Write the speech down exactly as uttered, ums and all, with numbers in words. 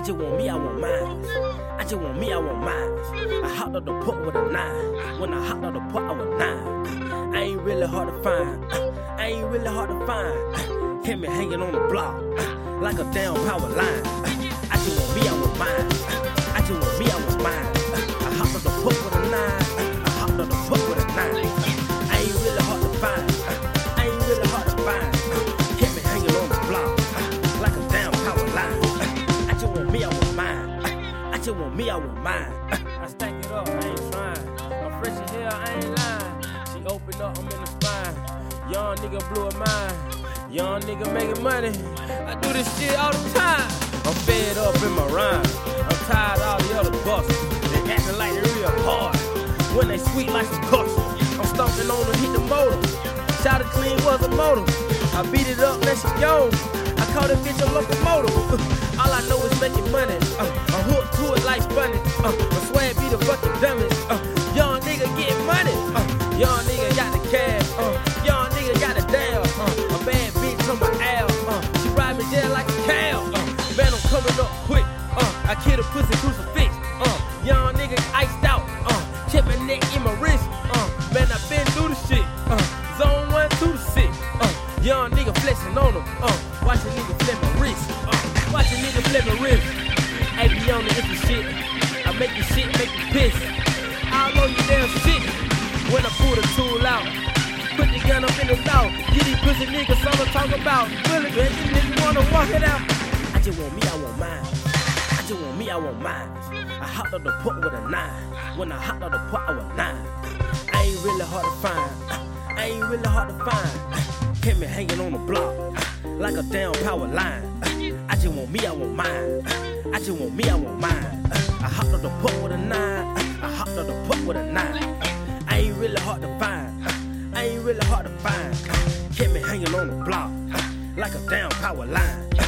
just want me, I want mine. I just want me, I want mine. I hopped up the port with a nine. When I hopped up the port, I was nine. I ain't really hard to find. I ain't really hard to find. Hit me hanging on the block like a damn power line. I just want me, I want mine. I just want me, I want mine. I hopped up the port with a nine. I hopped up the port with a nine. I ain't really hard to find. I ain't really hard to find. Hit me hanging on the block like a damn power line. I just want me, I want mine. I just want me, I want mine. I stack it up, I ain't trying. I'm fresh as hell, I ain't lying. She opened up, I'm in the spine. Young nigga blew her mind. Young nigga making money. I do this shit all the time. I'm fed up in my rhyme. I'm tired of all the other bosses. They acting like they real hard when they sweet like some cushion. I'm stomping on them, hit the motor. Shot it clean was a motor. I beat it up, now she gone. I call that bitch a locomotive. Uh, all I know is making money. Uh, I'm hooked to it like funny. Uh, my swag be the fucking dumbest. Uh, young nigga get money. Uh, young nigga got the cash. Uh, young nigga got the dab. Uh, a bad bitch on my ass. Uh, she ride me there like a cow. Uh, man, I'm coming up quick. Uh, I kill a pussy crucifix. Uh, young nigga iced out. Uh, check my neck in my wrist. Uh, man, I been through the shit. Uh, zone one to the six. Uh, young nigga flexing on them. Uh, watch a nigga flip my wrist. Uh, watch a nigga flip my wrist. Hey, be on the iffy shit. I make you shit, make you piss. I'll know you damn shit when I pull the tool out. Put the gun up in the mouth. Get these pussy niggas something to talk about. Really, man, these niggas wanna walk it out. I just want me, I want mine. I just want me, I want mine. I hopped up the port with a nine. When I hopped up the port, I was nine. I ain't really hard to find. I ain't really hard to find. Hit me hanging on the block like a damn power line. I just want me, I want mine. I just want me, I want mine. I hopped up the port with a nine. I hopped up the port with a nine. I ain't really hard to find. I ain't really hard to find. Hit me hanging on the block like a damn power line.